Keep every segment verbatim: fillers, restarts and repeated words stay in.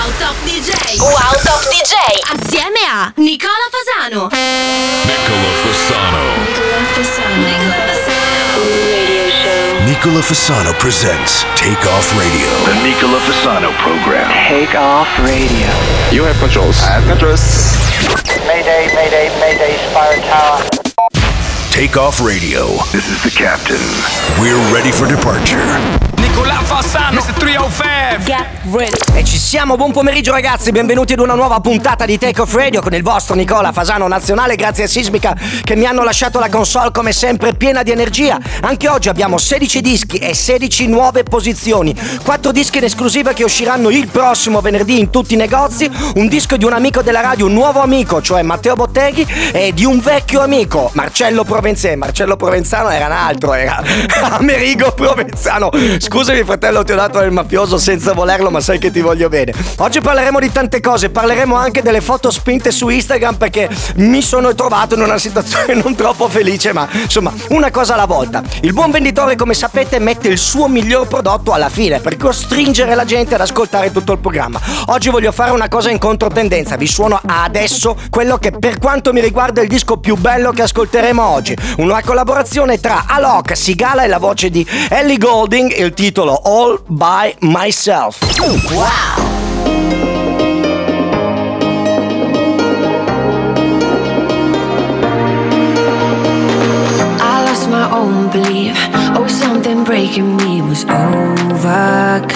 Wow Top D J. Wow Top D J. Assieme a Nicola Fasano. Nicola Fasano. Nicola Fasano. Nicola Fasano. Radio show. Nicola Fasano presents Take Off Radio. The Nicola Fasano program. Take Off Radio. You have controls. I have controls. Mayday, mayday, mayday, Spire Tower. Take Off Radio. This is the captain. We're ready for departure. Nicola Fasano, mister trecentocinque. Get ready. E ci siamo, buon pomeriggio ragazzi, benvenuti ad una nuova puntata di Take Off Radio con il vostro Nicola Fasano Nazionale, grazie a Sismica che mi hanno lasciato la console come sempre piena di energia. Anche oggi abbiamo sedici dischi e sedici nuove posizioni, quattro dischi in esclusiva che usciranno il prossimo venerdì in tutti i negozi, un disco di un amico della radio, un nuovo amico, cioè Matteo Botteghi, e di un vecchio amico, Marcello Provenzano. Marcello Provenzano era un altro, era Amerigo Provenzano. Scusami fratello, ti ho dato il mafioso senza volerlo, ma sai che ti voglio bene. Oggi parleremo di tante cose, parleremo anche delle foto spinte su Instagram perché mi sono trovato in una situazione non troppo felice, ma insomma una cosa alla volta. Il buon venditore, come sapete, mette il suo miglior prodotto alla fine per costringere la gente ad ascoltare tutto il programma. Oggi voglio fare una cosa in controtendenza, vi suono adesso quello che per quanto mi riguarda è il disco più bello che ascolteremo oggi, una collaborazione tra Alok, Sigala e la voce di Ellie Goulding, il titolo All By Myself. Wow! My own belief, oh, something breaking me was overcome.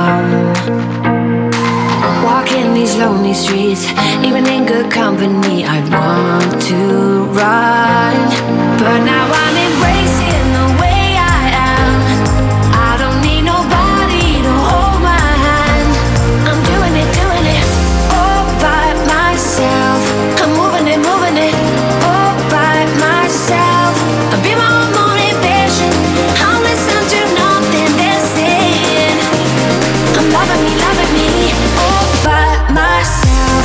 Walking these lonely streets, even in good company, I want to run, but now I'm embracing the way I am. I don't need nobody to hold my hand. I'm doing it, doing it all by myself. I'm moving it, moving it all by myself. I'll be my own motivation. I'll listen to nothing they're saying. I'm loving me, loving me all by myself.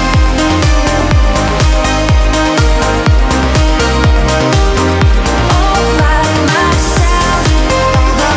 All by myself. All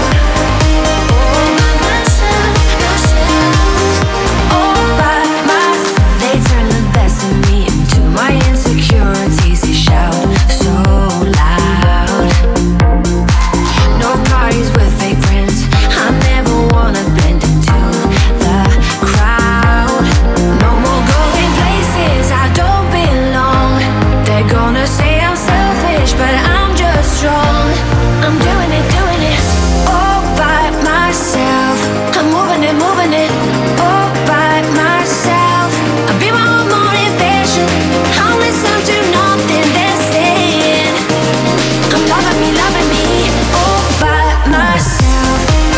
by myself, myself. All by myself. They turn the best of me into my insecurities. They shout so loud. No parties with fake friends. I never wanna blend into the crowd. No more going places I don't belong. They're gonna say I'm selfish, but I'm just strong. I'm doing it, doing it all by myself. I'm moving it, moving it all by myself. I'll be my own motivation. I'll listen to nothing they're saying. I'm loving me, loving me all by myself.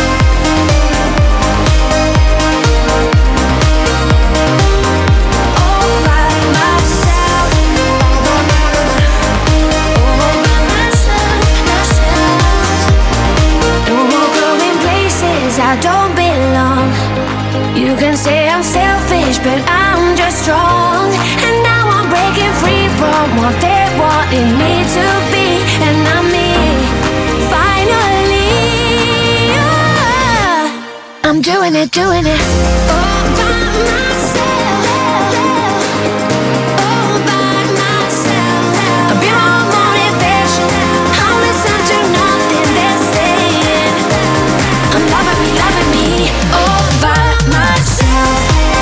All by myself. All by myself, myself. No more going places I don't belong. You can say I'm selfish, but I'm just strong. And now I'm breaking free from what they wanted me to be. And I'm me, finally. Yeah. I'm doing it, doing it all by myself. All by myself. I'll be my own motivation. I'll listen to nothing they're saying. I'm loving me, loving me all by myself.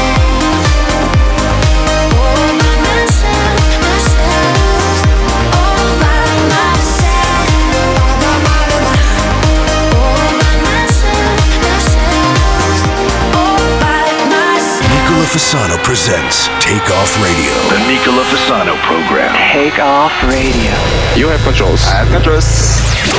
All by myself, myself. All by myself. All by myself, myself. All by myself. Nicola Fasano presents Take Off Radio. The Nicola Fasano program. Take Off Radio. You have controls. I have controls.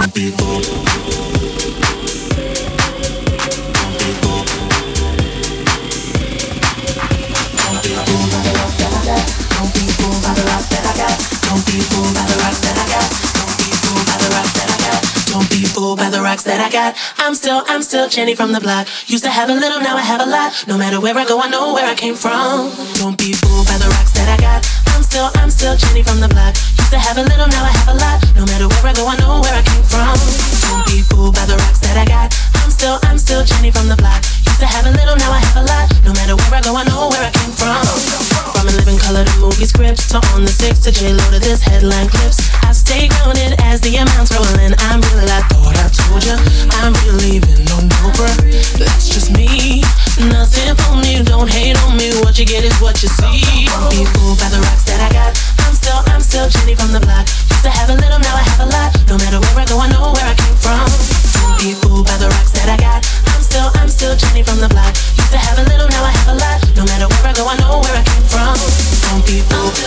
Don't be fooled by the rocks that I got. I'm still, I'm still Jenny from the block. Used to have a little, now I have a lot. No matter where I go, I know where I came from. Don't be fooled by the rocks that I got. I'm still, I'm still Jenny from the block. Used to have a little, now I have a lot. No matter where I go, I know where I came from. Don't be fooled by the rocks that I got. I'm still, I'm still Jenny from the block. Used to have a little, now I have a lot. No matter where I go, go, I know where I came from. From a living color to movie scripts, to on the six to J-Lo to this headline clips. I stay grounded as the amounts rolling. I'm real, I thought I told ya. I'm really leaving, no, no, bruh. That's just me. Nothing for me, don't hate on me. What you get is what you see. Don't be fooled by the rocks that I got. I'm still, I'm still Jenny from the block. Used to have a little, now I have a lot. No matter where I go, I know where I came from. Don't be fooled by the rocks that I got. I'm still, I'm still Jenny from the block. Used to have a little, now I have a lot. No matter where I go, I know where I came from. Don't be fooled.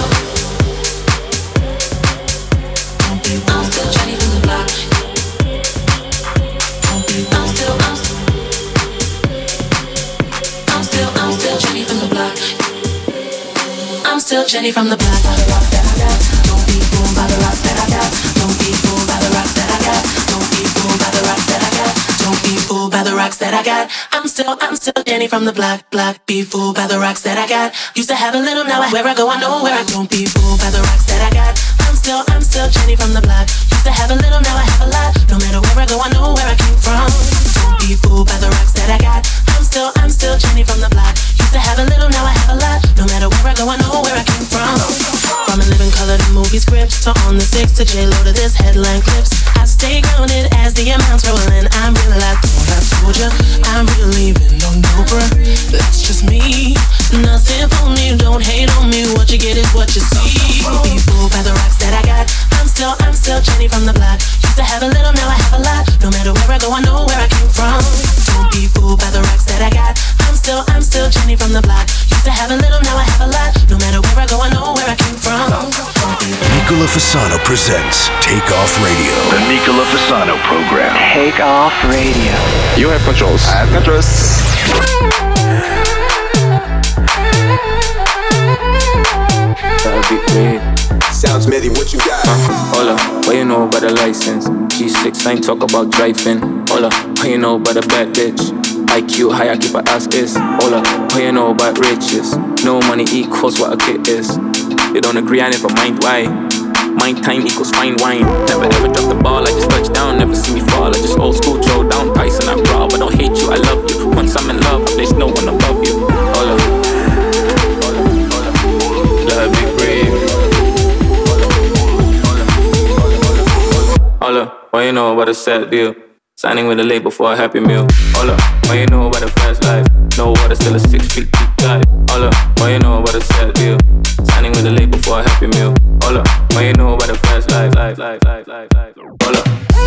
Don't be fooled. I'm still Jenny from the block. Don't be fooled. I'm still, I'm still, I'm still, I'm still Jenny from the block. I'm still Jenny from the block. By the rocks that I got. Don't be fooled by the rocks that I got. Don't be fooled by the rocks that I got. Don't be fooled by the rocks that I got. Don't be fooled by the rocks that I got. I'm still, I'm still Jenny from the block, block. Be fooled by the rocks that I got. Used to have a little, now I, where I go, I know where I don't be fooled by the rocks that I got. I'm still, I'm still Jenny from the block. Used to have a little, now I have a lot. No matter where I go, I know where I came from. Don't be fooled by the rocks that I got. I'm still, I'm still Jenny from the block. Used to have a little, now I have a lot. No matter where I go, I know where I came from. From a living color to movie scripts, to on the six to J-Lo to this headline clips. I stay grounded as the amounts rolling. I'm real, I thought I told ya. I'm really leaving, no, no, bruh. That's just me. Nothing for me, don't hate on me. What you get is what you see. Be fooled by the rocks that I got. I'm still, I'm still Jenny from the block. Used to have a little, now I have a lot. No matter where I go, I know where I came from. Don't be fooled by the rocks that I got. I'm still, I'm still Jenny from the block. Used to have a little, now I have a lot. No matter where I go, I know where I came from. Nicola Fasano presents Take Off Radio. The Nicola Fasano program. Take Off Radio. You have controls. I have controls. That'd be great. Sounds Smithy, what you got? Uh, hola, what you know about the license? G six, I ain't talk about driving. Hola, what you know about a bad bitch? I Q high, I keep her ass is. Hola, what you know about riches? No money equals what a kid is. You don't agree, I never mind why. Mind time equals fine wine. Never ever drop the ball, I just touch down. Never see me fall, I just old school throw down. Tyson, I'm raw, but don't hate you, I love you. Once I'm in love, there's no one above you. Hola, love be brave. Hola, what you know about a sad deal? Signing with a label for a happy meal. Hola, what you know about a fast life? No water, still a six feet deep dive. Hola, what you know about a sad deal? Signing with a label for a happy meal. Hola, what you know about a fast life? Life, life, life, life, life. Hola.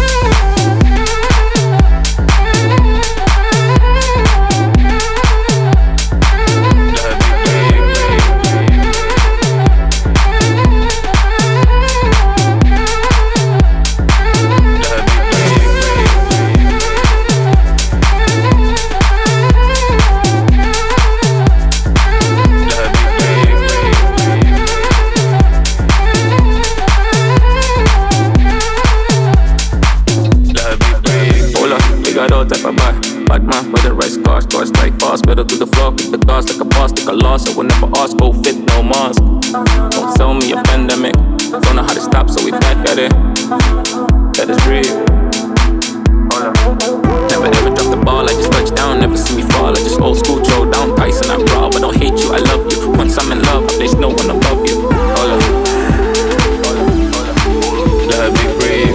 Bad man with the right scars, scars strike fast. Better to the floor, kick the cars like a boss. Take a loss, I will never ask, go fit, no mask. Don't tell me a pandemic. Don't know how to stop, so we back at it. That is real. Never ever drop the ball, I just touch down. Never see me fall, I just old school throw down. Tyson, I'm raw, but don't hate you, I love you. Once I'm in love, there's no one above you. Hola, love be brave.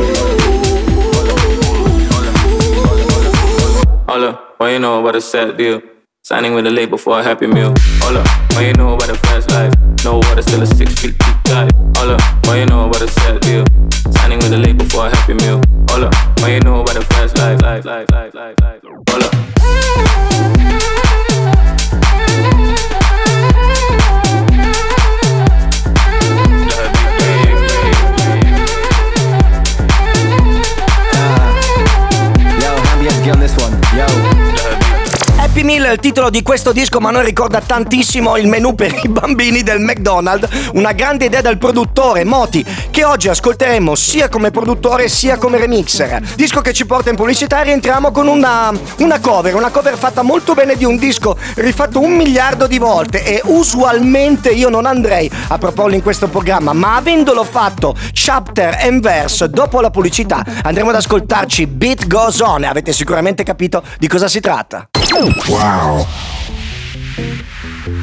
Hola, what you know about a sad deal? Signing with a label for a happy meal. Hola, what you know about a fast life? No water, still a six feet deep dive. Hola, what you know about a sad deal? Signing with a label for a happy meal. Hola, what you know about a fast life? Life, life, life, life, life. Hola. On this one, yo. Happy Meal è il titolo di questo disco, ma a noi ricorda tantissimo il menù per i bambini del McDonald's, una grande idea del produttore Moti, che oggi ascolteremo sia come produttore sia come remixer. Disco che ci porta in pubblicità e rientriamo con una, una cover, una cover fatta molto bene di un disco rifatto un miliardo di volte, e usualmente io non andrei a proporlo in questo programma, ma avendolo fatto chapter and verse dopo la pubblicità andremo ad ascoltarci Beat Goes On e avete sicuramente capito di cosa si tratta. Wow.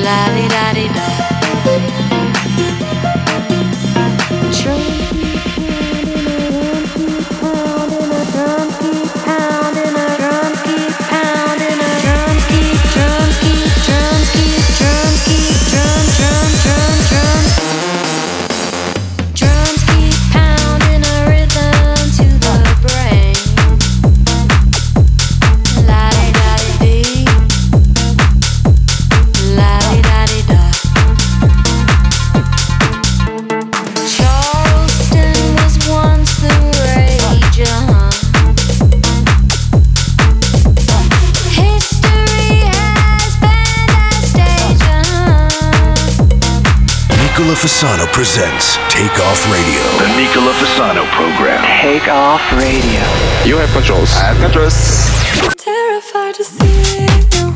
Fasano presents Take Off Radio. The Nicola Fasano program. Take Off Radio. You have controls. I have controls. Terrified to see you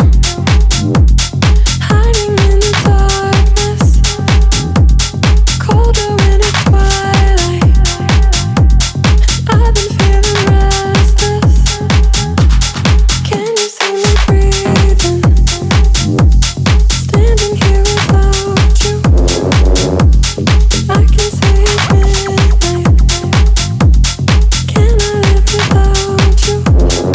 hiding in the darkness, colder when it's twilight. I've been feeling restless. Can you see me breathing? Standing here without you. I can see it's midnight. Can I live without you?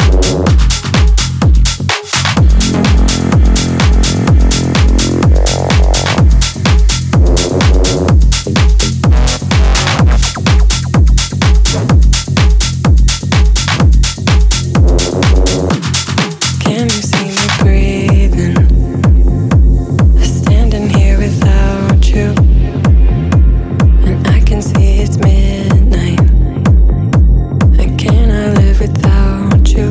Can you see me breathing? Standing here without you. And I can see it's midnight. And can I live without you?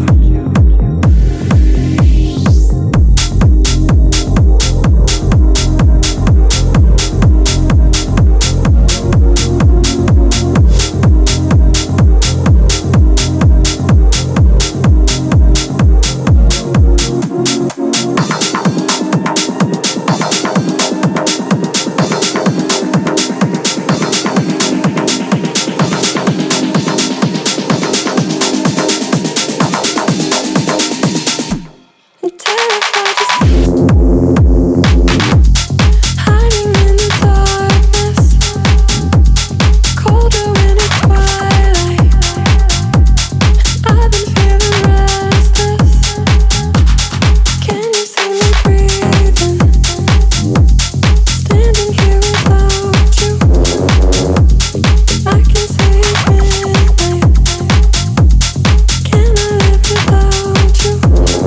I'm terrified to see hiding in the darkness, colder when it's twilight. I've been feeling restless. Can you see me breathing? Standing here without you. I can see it's midnight. Can I live without you?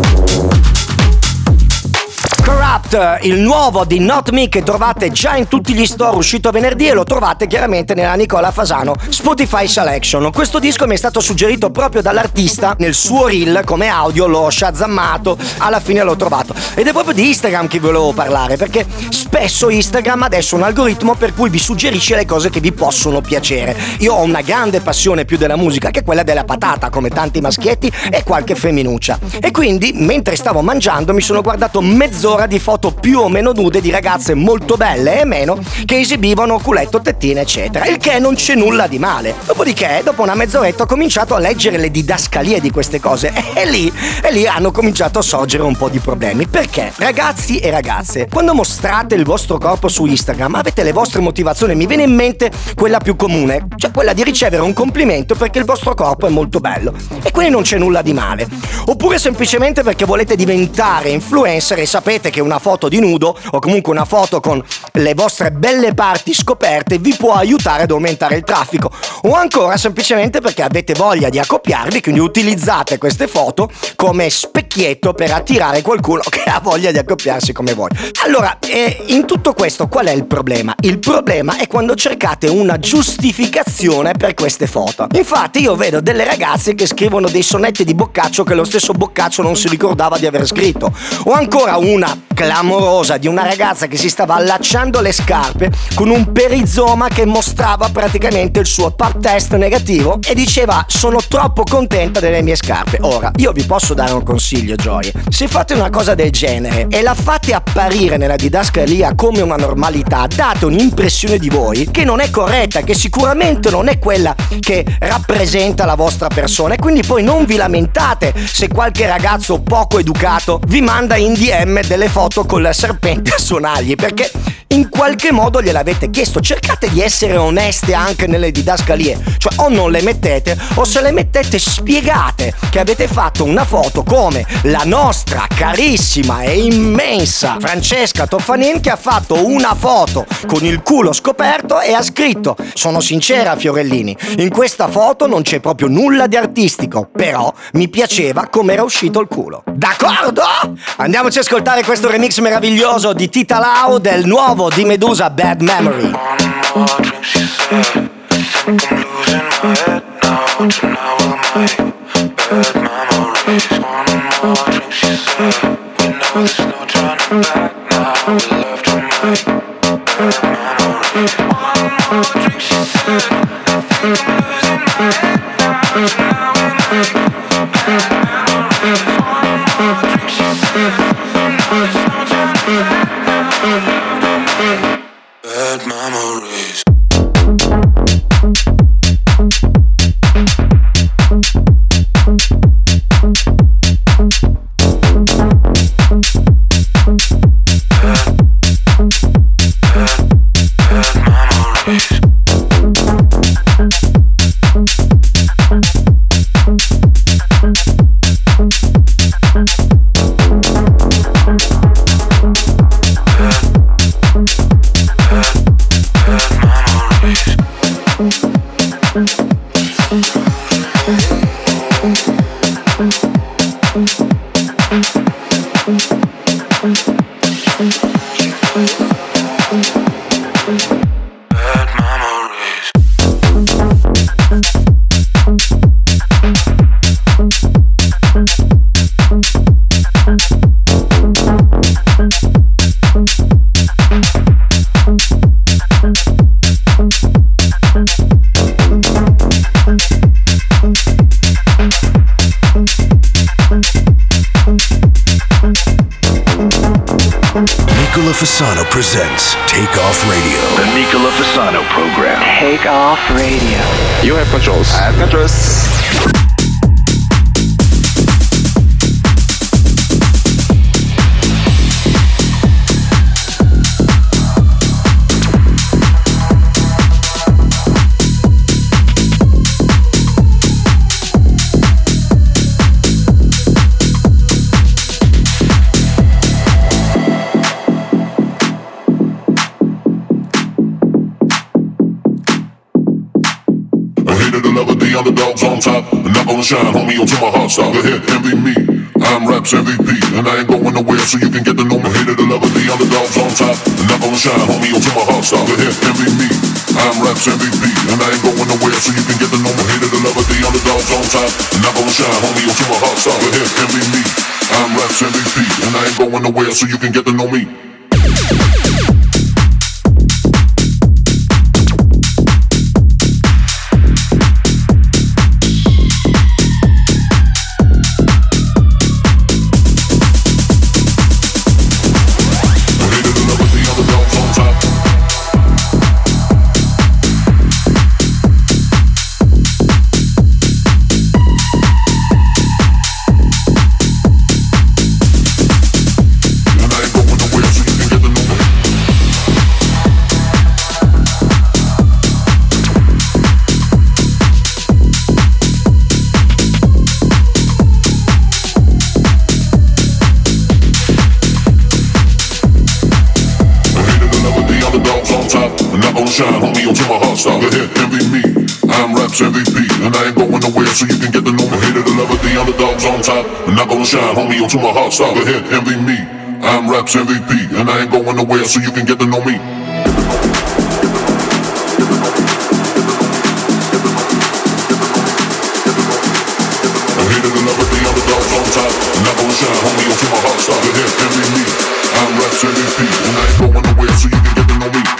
Corrupt, il nuovo di Not Me che trovate già in tutti gli store, uscito venerdì, e lo trovate chiaramente nella Nicola Fasano Spotify Selection. Questo disco mi è stato suggerito proprio dall'artista nel suo reel come audio, l'ho shazammato, alla fine l'ho trovato. Ed è proprio di Instagram che volevo parlare, perché spesso Instagram adesso ha un algoritmo per cui vi suggerisce le cose che vi possono piacere. Io ho una grande passione più della musica, che è quella della patata, come tanti maschietti e qualche femminuccia. E quindi, mentre stavo mangiando, mi sono guardato mezz'ora di foto più o meno nude di ragazze molto belle e meno che esibivano culetto, tettine, eccetera. Il che non c'è nulla di male. Dopodiché, dopo una mezz'oretta, ho cominciato a leggere le didascalie di queste cose e lì, e lì hanno cominciato a sorgere un po' di problemi. Perché, ragazzi e ragazze, quando mostrate il vostro corpo su Instagram avete le vostre motivazioni. Mi viene in mente quella più comune, cioè quella di ricevere un complimento perché il vostro corpo è molto bello, e quindi non c'è nulla di male. Oppure semplicemente perché volete diventare influencer e sapete che una foto di nudo o comunque una foto con le vostre belle parti scoperte vi può aiutare ad aumentare il traffico, o ancora semplicemente perché avete voglia di accoppiarvi, quindi utilizzate queste foto come specchietto per attirare qualcuno che ha voglia di accoppiarsi come voi. Allora, eh, in tutto questo qual è il problema? Il problema è quando cercate una giustificazione per queste foto. Infatti io vedo delle ragazze che scrivono dei sonetti di Boccaccio che lo stesso Boccaccio non si ricordava di aver scritto, o ancora una clamorosa di una ragazza che si stava allacciando le scarpe con un perizoma che mostrava praticamente il suo pap test negativo e diceva: sono troppo contenta delle mie scarpe. Ora, io vi posso dare un consiglio, gioie: se fate una cosa del genere e la fate apparire nella didascalia come una normalità, date un'impressione di voi che non è corretta, che sicuramente non è quella che rappresenta la vostra persona, e quindi poi non vi lamentate se qualche ragazzo poco educato vi manda in D M delle foto foto col serpente a suonargli, perché in qualche modo gliel'avete chiesto. Cercate di essere oneste anche nelle didascalie, cioè o non le mettete, o se le mettete spiegate che avete fatto una foto come la nostra carissima e immensa Francesca Toffanin, che ha fatto una foto con il culo scoperto e ha scritto: sono sincera Fiorellini, in questa foto non c'è proprio nulla di artistico, però mi piaceva come era uscito il culo. D'accordo? Andiamoci a ascoltare questo remix meraviglioso di Tita Lau del nuovo di Medusa, Bad Memory. Bad memories. Nicola Fasano presents Take Off Radio. The Nicola Fasano program. Take Off Radio. You have controls. I have controls. Underdogs on top, and not gonna shine, homie, until my heart stop. Go ahead, envy me, I'm Raps M V P, and I ain't going nowhere, so you can get to know me. Hater the lover, the underdogs on top, and not gonna shine, homie, until my heart stop. Go ahead, envy me, I'm Raps M V P, and I ain't going nowhere, so you can get to know me. Hater the lover, the underdogs on top, and not gonna shine, homie, until my heart stop. Go ahead, envy me, I'm Raps M V P, and I ain't going nowhere, so you can get to know me. Shine, homie, until my heart stop. Go ahead, envy me, I'm Raps M V P, and I ain't going nowhere, so you can get to know me. Hater the lover, the underdogs on top, and not gonna shine, homie, until my heart stop. Go ahead, envy me, I'm Raps M V P, and I ain't going nowhere, so you can get to know me. Hater the lover, the underdogs on top, and not gonna shine, homie, until my heart stop. Go ahead, envy me, I'm Raps M V P, and I ain't going nowhere, so you can get to know me.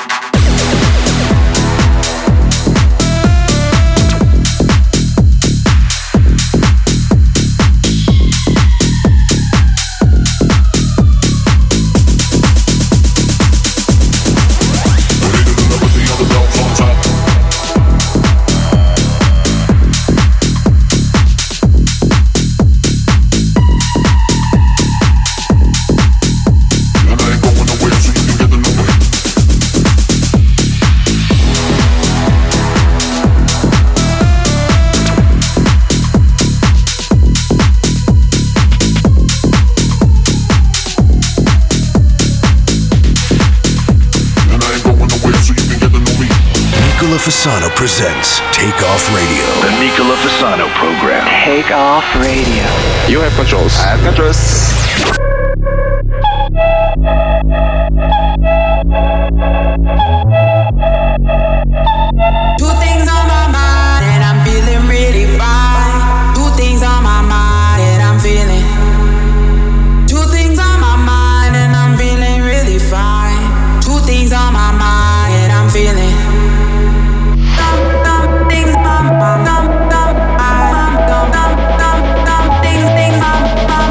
Fasano presents Take Off Radio. The Nicola Fasano program. Take Off Radio. You have controls. I have controls. Two things on my mind and I'm feeling really fine. Two things on my mind and I'm feeling. Two things on my mind and I'm feeling really fine. Two things on my mind and I'm feeling. Some, some things on my mind. Some, some, some, some things, things on my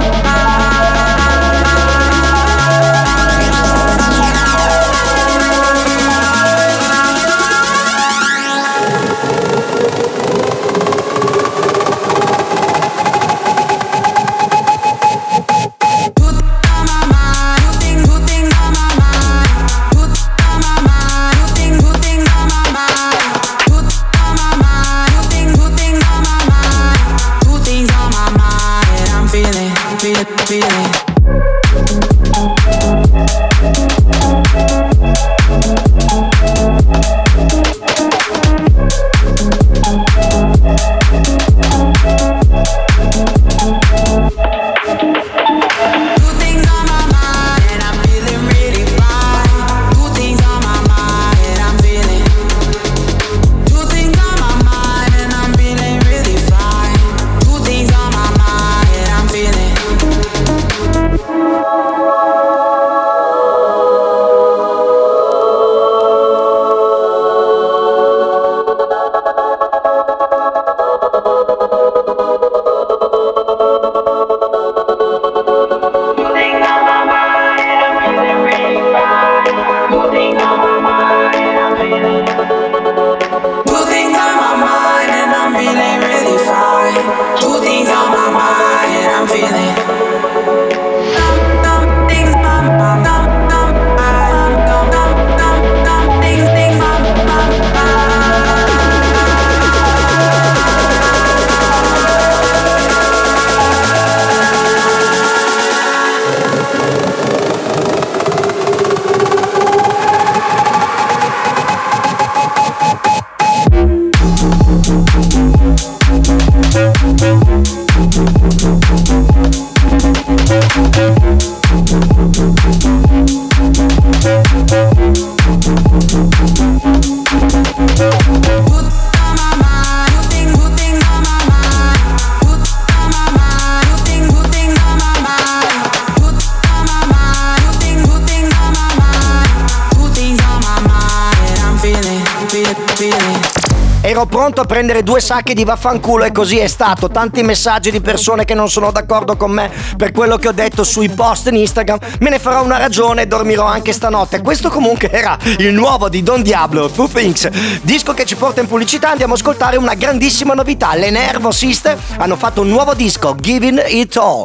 Ero pronto a prendere due sacchi di vaffanculo e così è stato. Tanti messaggi di persone che non sono d'accordo con me per quello che ho detto sui post in Instagram. Me ne farò una ragione e dormirò anche stanotte. Questo comunque era il nuovo di Don Diablo, Two Things, disco che ci porta in pubblicità. Andiamo ad ascoltare una grandissima novità. Le Nervo Sister hanno fatto un nuovo disco, Giving It All.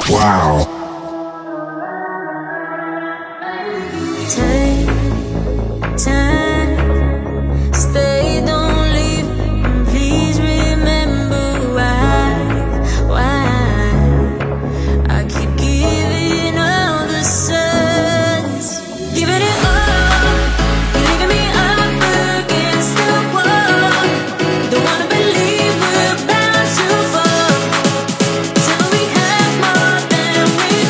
Wow. Take time, stay, don't leave. Please remember why, why I keep giving all the signs, giving it all, leaving me up against the wall. Don't wanna believe we're bound to fall till we have more than we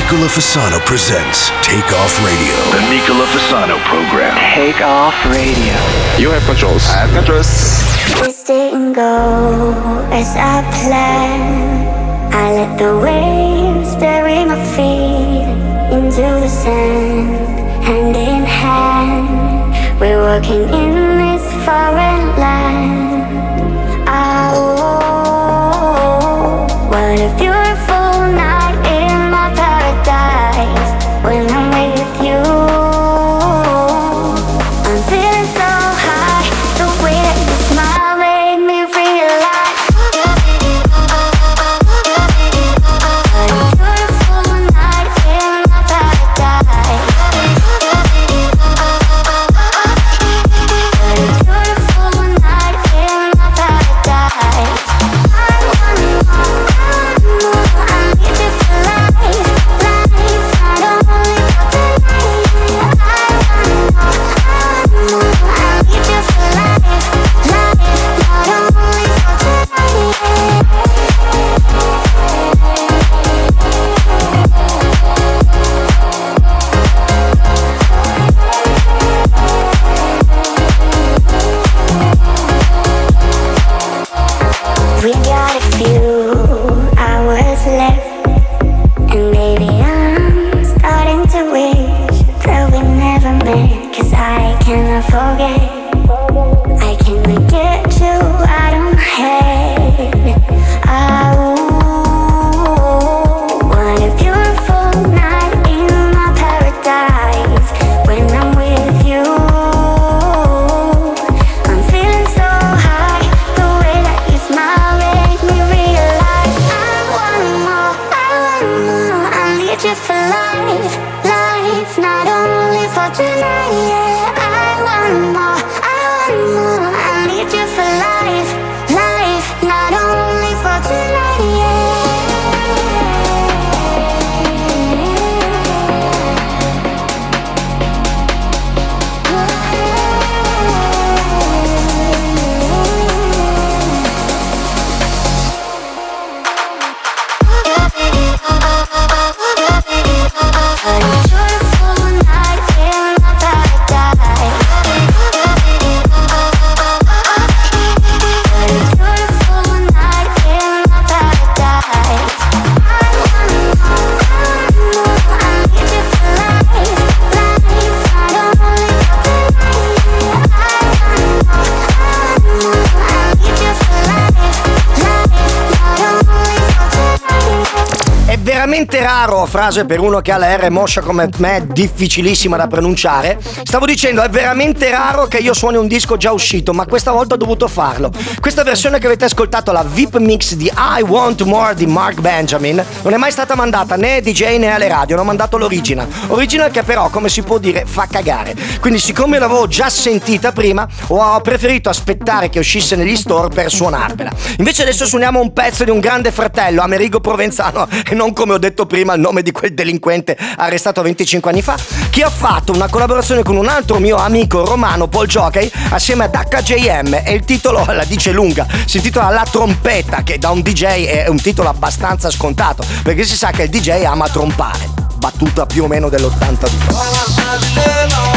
Nicola Fasano presents Take Off Radio. The Nicola Fasano program. Take Off Radio. You have controls. I have controls. This didn't go as I planned. I let the waves bury my feet into the sand. Hand in hand, we're walking in this foreign land. Oh, what a beautiful night in my paradise. When I'm with you, I'm feeling so high. The way that you smile made me realize what a beautiful night in my paradise. What a beautiful night in my paradise. I wanna know, I wanna know, I need you for life, life, not only for tonight. I wanna know, I wanna know, I need you for life, life, not only for We got a few hours left, and maybe I'm starting to wish that we never met. Cause I cannot forget, I cannot get you out of my head. Oh, what a beautiful night in my paradise. When I'm with you, I'm feeling so high. The way that you smile made me realize I wanna more, I wanna more. I need you for life, life, not only for tonight. Yeah, I want more, I want more. I need you for life, life, not only for tonight. Yeah. What a beautiful night in my paradise. What a beautiful night in my paradise. I wanna know, I wanna know, I need you for life, life, not only for tonight. I wanna know, I wanna know, I need you for life, life, not only for tonight. È veramente raro, frase per uno che ha la R moscia come me, difficilissima da pronunciare. Stavo dicendo, è veramente raro che io suoni un disco già uscito, ma questa volta ho dovuto farlo. Questa versione che avete ascoltato, la V I P Mix di I Want More di Mark Benjamin, non è mai stata mandata né ai D J né alle radio, hanno mandato l'original. Original che però, come si può dire, fa cagare. Quindi siccome l'avevo già sentita prima, ho preferito aspettare che uscisse negli store per suonarvela. Invece adesso suoniamo un pezzo di un grande fratello, Amerigo Provenzano, e non come ho detto prima il nome di quel delinquente arrestato venticinque anni fa, che ha fatto una collaborazione con un altro mio amico romano, Paul Jockey, assieme ad H J M, e il titolo la dice lunga, si intitola La Trompetta, che da un D J è un titolo abbastanza scontato, perché si sa che il D J ama trompare, battuta più o meno dell'ottantadue.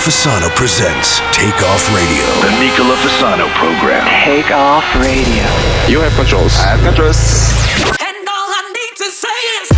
Fasano presents Take Off Radio. The Nicola Fasano program. Take Off Radio. You have controls. I have controls. And all I need to say is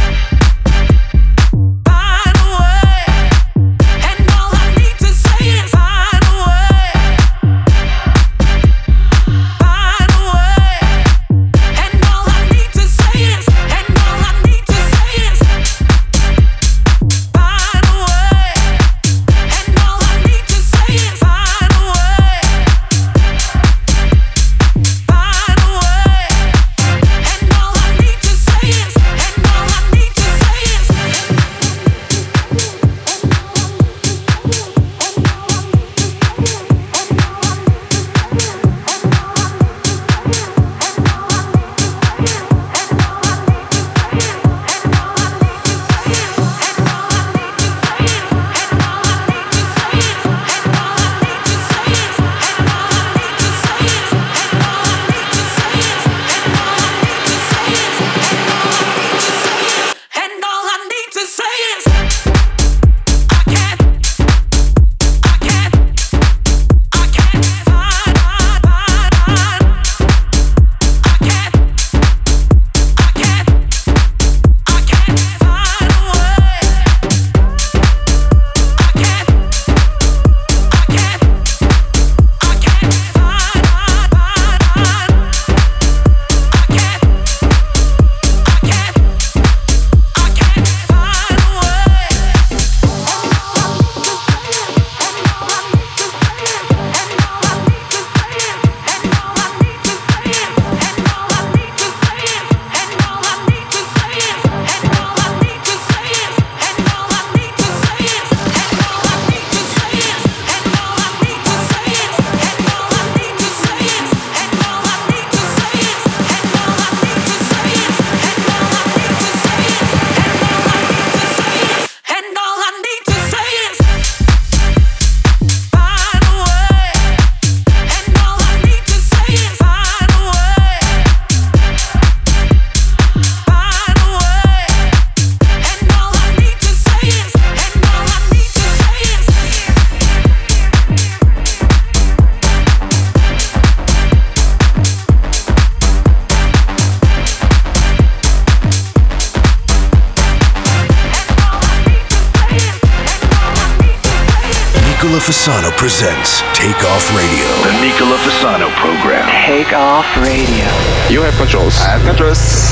Nicola Fasano presents Take Off Radio. The Nicola Fasano program. Take Off Radio. You have controls. I have controls.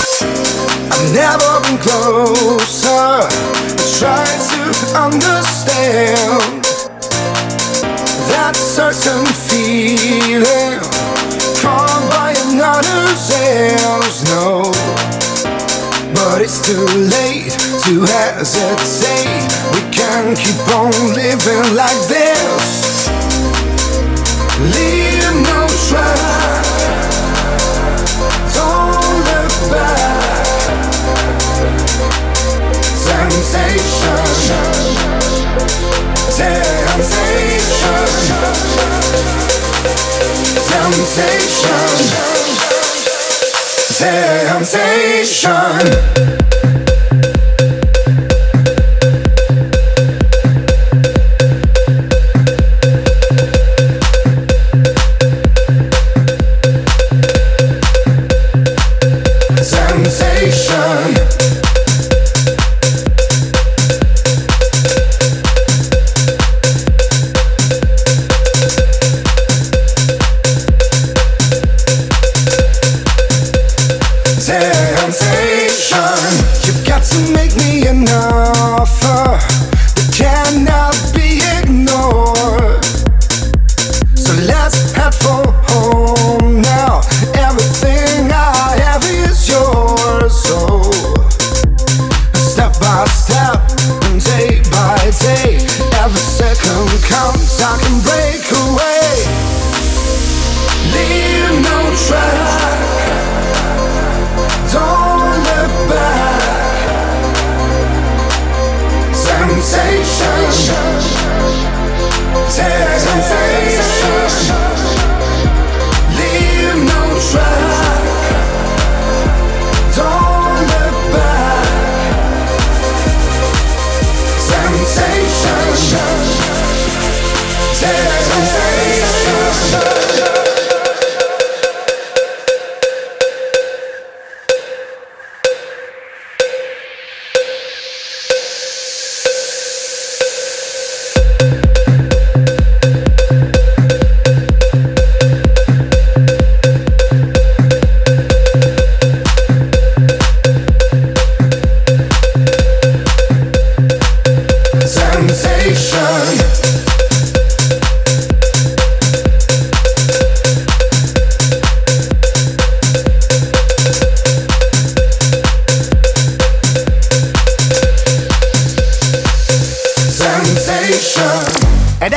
I've never been closer. Trying to understand that certain feeling caused by another's hands. No, but it's too late to hesitate. We can't keep on living like this. Leave no track. Don't look back. Temptation. Temptation. Temptation. Temptation. Temptation.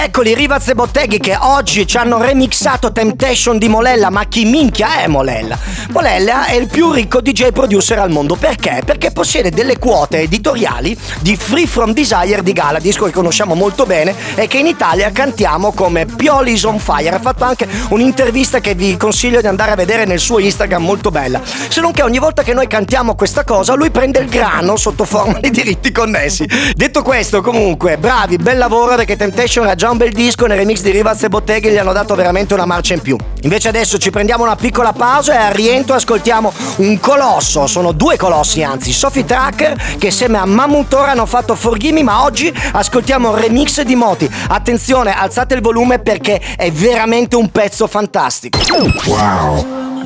Eccoli Rivaz e Botteghi che oggi ci hanno remixato Temptation di Molella. Ma chi minchia è Molella? Molella è il più ricco D J producer al mondo. Perché? Perché possiede delle quote editoriali di Free From Desire di Gala, disco che conosciamo molto bene e che in Italia cantiamo come Pioli's on Fire. Ha fatto anche un'intervista che vi consiglio di andare a vedere nel suo Instagram, molto bella. Se non che ogni volta che noi cantiamo questa cosa lui prende il grano sotto forma di diritti connessi. Detto questo, comunque, bravi, bel lavoro, perché Temptation era già un bel disco, nel remix di Rivaz e Botteghi gli hanno dato veramente una marcia in più. Invece adesso ci prendiamo una piccola pausa e al rientro ascoltiamo un colosso, sono due colossi anzi, Sophie Tucker che insieme a Mamutora hanno fatto Forgive Me, ma oggi ascoltiamo il remix di Moti. Attenzione, alzate il volume perché è veramente un pezzo fantastico. Wow.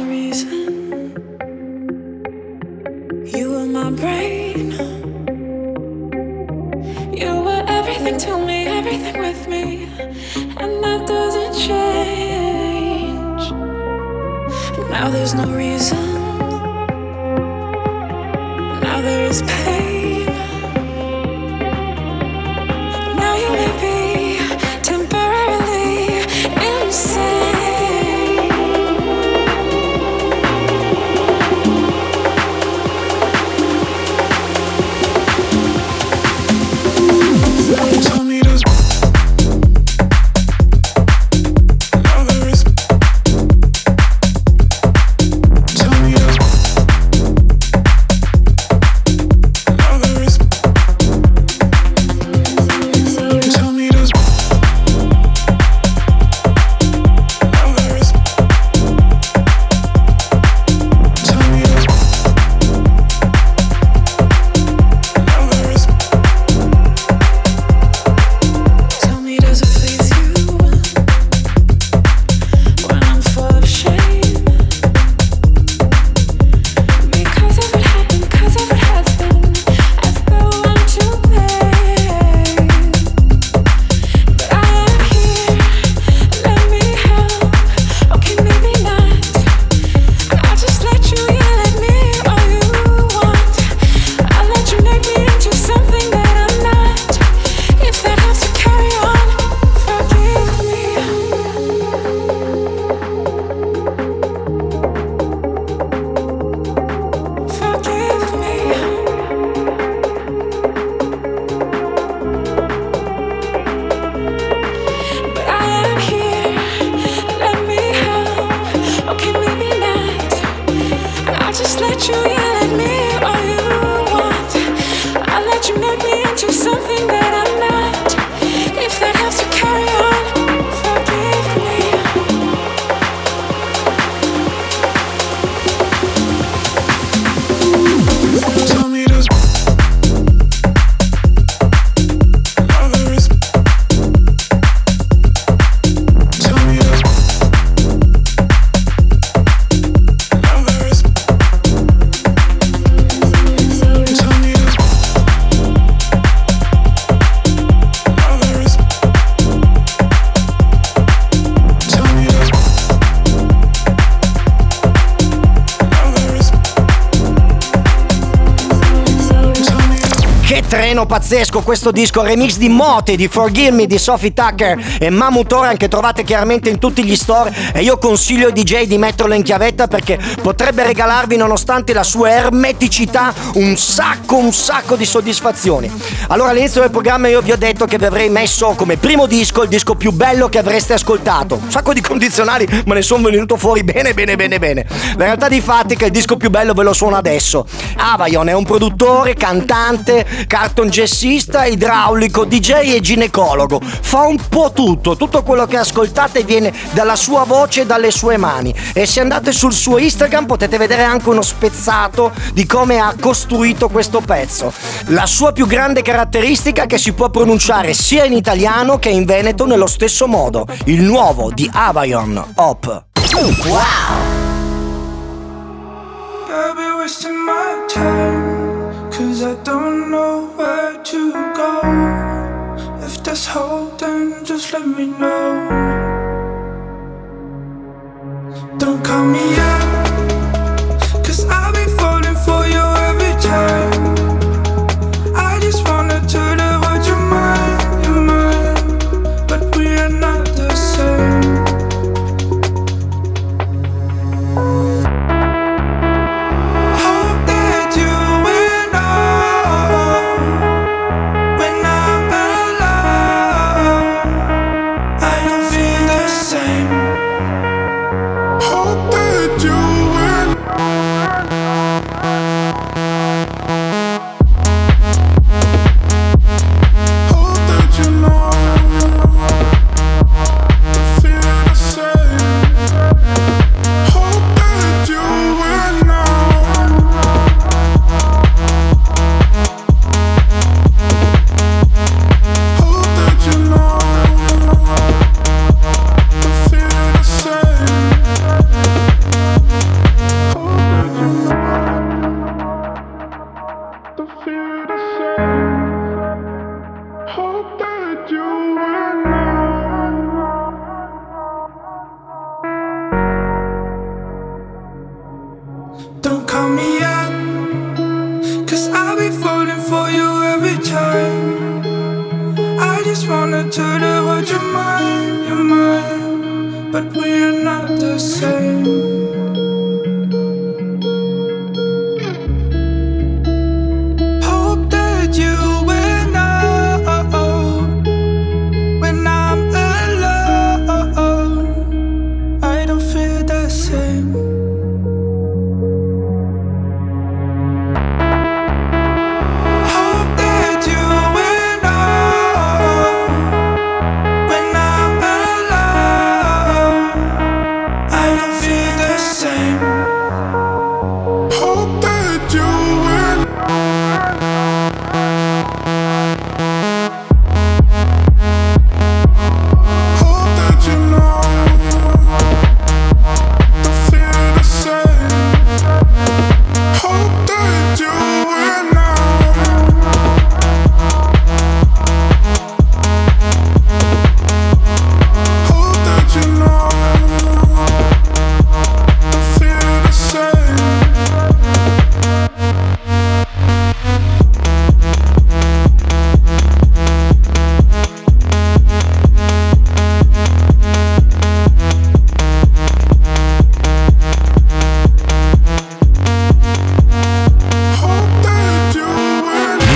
You were my brain. You were everything to me, everything with me, and that doesn't change. Now there's no reason. Now there is pain. Now you may be temporarily insane. Tell me this. Now there is. Tell me this. Now there is. Tell me this. Now there is. Tell me this. Now there is. Tell me, does it please you when I'm full of shame? Because of what happened, because of what has been, as though I'm to blame. But I am here, let me help. Okay, maybe not. I'll just let you yell at me all you want. I'll let you make me into something that I'm not. If that helps to carry on, forgive me. Forgive me. But I am here, let me help. Okay, maybe not. I'll just let you yell at me all you want. I'll let you make me into something that I'm not. If that helps to carry on, forgive me. Tell me this. Now there is. Tell me this. Now there is. Tell me this. Now there is. Tell me this. Now there is. Tell me this. Che treno pazzesco questo disco, remix di Moti, di Forgive Me di Sophie Tucker e Mamutora, che trovate chiaramente in tutti gli store, e io consiglio ai D J di metterlo in chiavetta perché potrebbe regalarvi, nonostante la sua ermeticità, un sacco un sacco di soddisfazioni. Allora, all'inizio del programma io vi ho detto che vi avrei messo come primo disco il disco più bello che avreste ascoltato. Un sacco di condizionali, ma ne sono venuto fuori bene bene bene bene. La realtà dei fatti è che il disco più bello ve lo suono adesso. Avayon è un produttore, cantante, carton jazzista, idraulico, D J e ginecologo. Fa un po' tutto, tutto quello che ascoltate viene dalla sua voce e dalle sue mani. E se andate sul suo Instagram potete vedere anche uno spezzato di come ha costruito questo pezzo. La sua più grande caratteristica è che si può pronunciare sia in italiano che in veneto nello stesso modo. Il nuovo di Avayon, Hop. Wow! Baby, wasting my time, cause I don't know where to go. If there's hope, then just let me know. Don't call me up, cause I'll be falling for you every time. I just wanna tell the world you're mine, you're mine. But we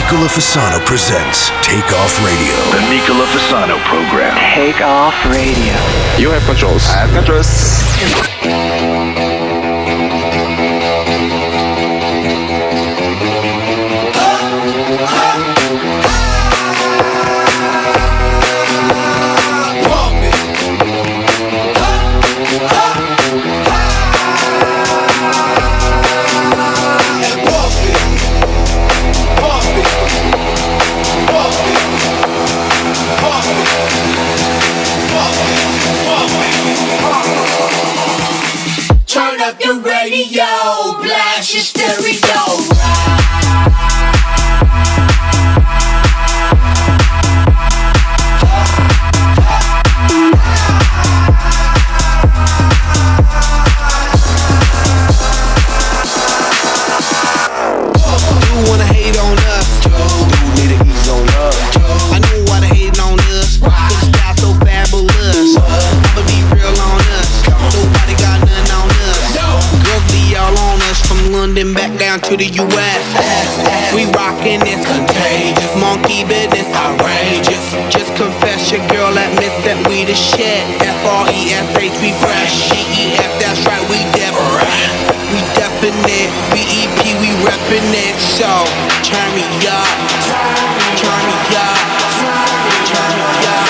Nicola Fasano presents Take Off Radio. The Nicola Fasano program. Take Off Radio. You have controls. I have controls. Turn up your radio, blast your stereo. You wanna hate on us, need to ease on up. I know why they hating on us, cause the style so fabulous. I'ma be real on us, nobody got nothing on us. Girls be all on us, from London back down to the U S. We rockin' this contagious, monkey business outrageous. Just confess your girl admits that we the shit. F R E S H, we fresh. G E F, that's right, we different. We definite, B E P, we reppin' it. So, turn me up, turn me up, turn me up.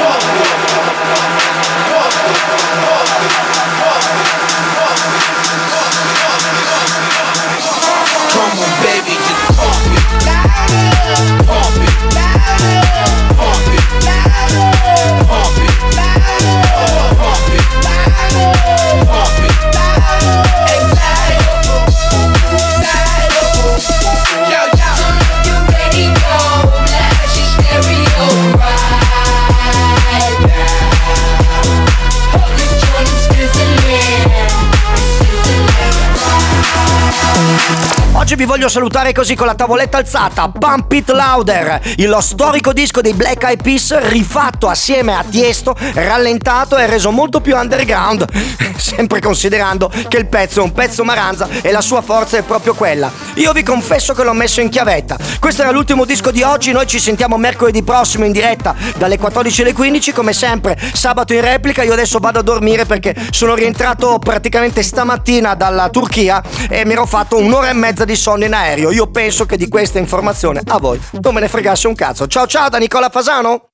Come on, baby, just pump it, pump it, pump it, pump it, pump it, pump it. Oggi vi voglio salutare così con la tavoletta alzata. Pump It Louder, il storico disco dei Black Eyed Peas rifatto assieme a Tiesto, rallentato e reso molto più underground, sempre considerando che il pezzo è un pezzo maranza e la sua forza è proprio quella. Io vi confesso che l'ho messo in chiavetta. Questo era l'ultimo disco di oggi, noi ci sentiamo mercoledì prossimo in diretta dalle quattordici alle quindici, come sempre sabato in replica. Io adesso vado a dormire perché sono rientrato praticamente stamattina dalla Turchia e mi ero fatto un'ora e mezza di sonno in aereo. Io penso che di questa informazione a voi non me ne fregasse un cazzo. Ciao ciao da Nicola Fasano.